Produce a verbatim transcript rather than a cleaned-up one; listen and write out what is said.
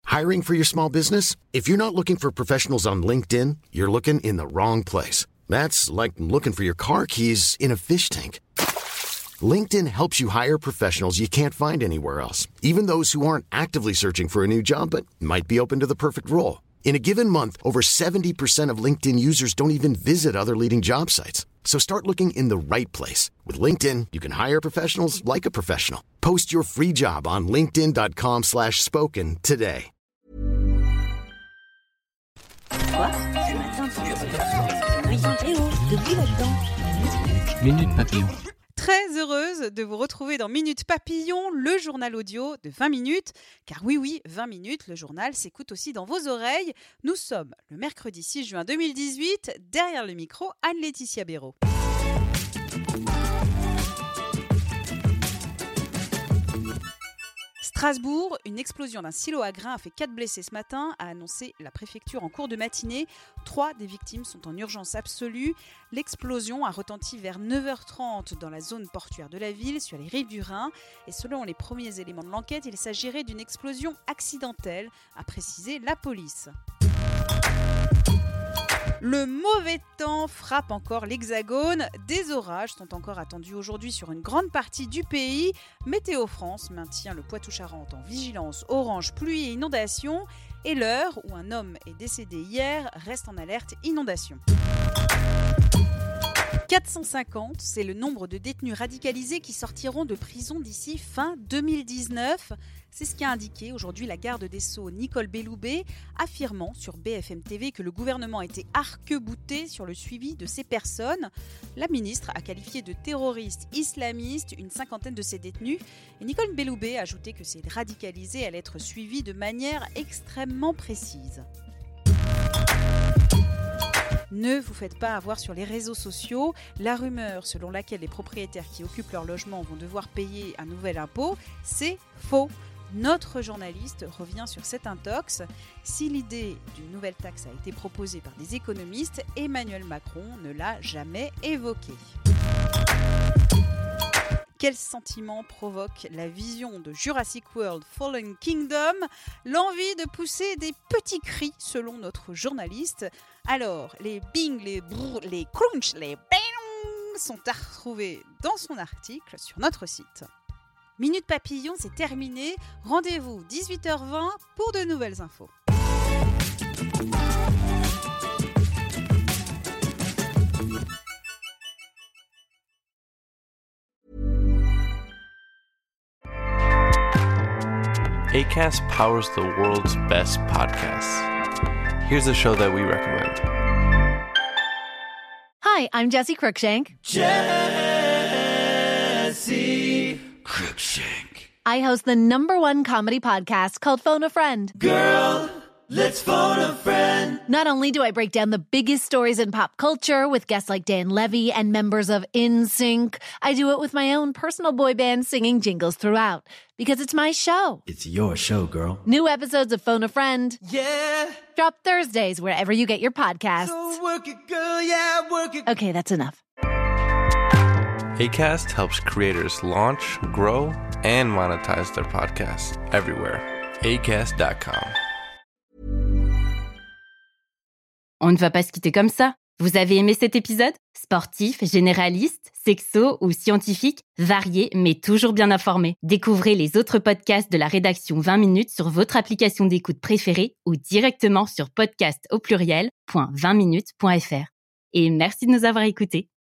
Hiring for your small business? If you're not looking for professionals on LinkedIn, you're looking in the wrong place. That's like looking for your car keys in a fish tank. LinkedIn helps you hire professionals you can't find anywhere else, even those who aren't actively searching for a new job but might be open to the perfect role. In a given month, over seventy percent of LinkedIn users don't even visit other leading job sites. So start looking in the right place. With LinkedIn, you can hire professionals like a professional. Post your free job on linkedin.com slash spoken today. Quoi? Ce matin, tu depuis là-dedans. Minute Papillon. Très heureuse de vous retrouver dans Minute Papillon, le journal audio de vingt minutes. Car oui, oui, vingt minutes, le journal s'écoute aussi dans vos oreilles. Nous sommes le mercredi six juin deux mille dix-huit. Derrière le micro, Anne-Laetitia Béraud. Strasbourg, une explosion d'un silo à grains a fait quatre blessés ce matin, a annoncé la préfecture en cours de matinée. Trois des victimes sont en urgence absolue. L'explosion a retenti vers neuf heures trente dans la zone portuaire de la ville, sur les rives du Rhin. Et selon les premiers éléments de l'enquête, il s'agirait d'une explosion accidentelle, a précisé la police. Le mauvais temps frappe encore l'Hexagone. Des orages sont encore attendus aujourd'hui sur une grande partie du pays. Météo France maintient le Poitou-Charentes en vigilance orange pluie et inondation. Et l'heure où un homme est décédé hier reste en alerte inondation. quatre cent cinquante, c'est le nombre de détenus radicalisés qui sortiront de prison d'ici fin deux mille dix-neuf. C'est ce qu'a indiqué aujourd'hui la garde des Sceaux Nicole Belloubet, affirmant sur B F M T V que le gouvernement était arc-bouté sur le suivi de ces personnes. La ministre a qualifié de terroristes islamistes une cinquantaine de ces détenus. Et Nicole Belloubet a ajouté que ces radicalisés allaient être suivis de manière extrêmement précise. Ne vous faites pas avoir sur les réseaux sociaux. La rumeur selon laquelle les propriétaires qui occupent leur logement vont devoir payer un nouvel impôt, c'est faux. Notre journaliste revient sur cette intox. Si l'idée d'une nouvelle taxe a été proposée par des économistes, Emmanuel Macron ne l'a jamais évoquée. Quel sentiment provoque la vision de Jurassic World Fallen Kingdom? L'envie de pousser des petits cris selon notre journaliste. Alors, les bing, les brrr, les crunch, les bing sont à retrouver dans son article sur notre site. Minute Papillon, c'est terminé. Rendez-vous dix-huit heures vingt pour de nouvelles infos. Acast powers the world's best podcasts. Here's a show that we recommend. Hi, I'm Jessie Cruikshank. Jessie Cruikshank. I host the number one comedy podcast called Phone a Friend. Girl, let's phone a friend. Not only do I break down the biggest stories in pop culture with guests like Dan Levy and members of N Sync, I do it with my own personal boy band singing jingles throughout. Because it's my show. It's your show, girl. New episodes of Phone a Friend. Yeah. Drop Thursdays wherever you get your podcasts. So work it, girl, yeah, work it. Okay, that's enough. Acast helps creators launch, grow, and monetize their podcasts everywhere. Acast dot com. On ne va pas se quitter comme ça. Vous avez aimé cet épisode? Sportif, généraliste, sexo ou scientifique, varié mais toujours bien informé. Découvrez les autres podcasts de la rédaction vingt minutes sur votre application d'écoute préférée ou directement sur podcast au pluriel point vingt minutes point f r. Et merci de nous avoir écoutés.